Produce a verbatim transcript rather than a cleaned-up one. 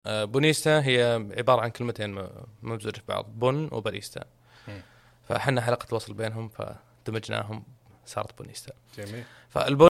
آه، بونيستا هي عبارة عن كلمتين ممزوجة في بعض، بون وباريستا. مم. فحنا حلقة الوصل بينهم فدمجناهم صارت بونيستا. جميل. فالبون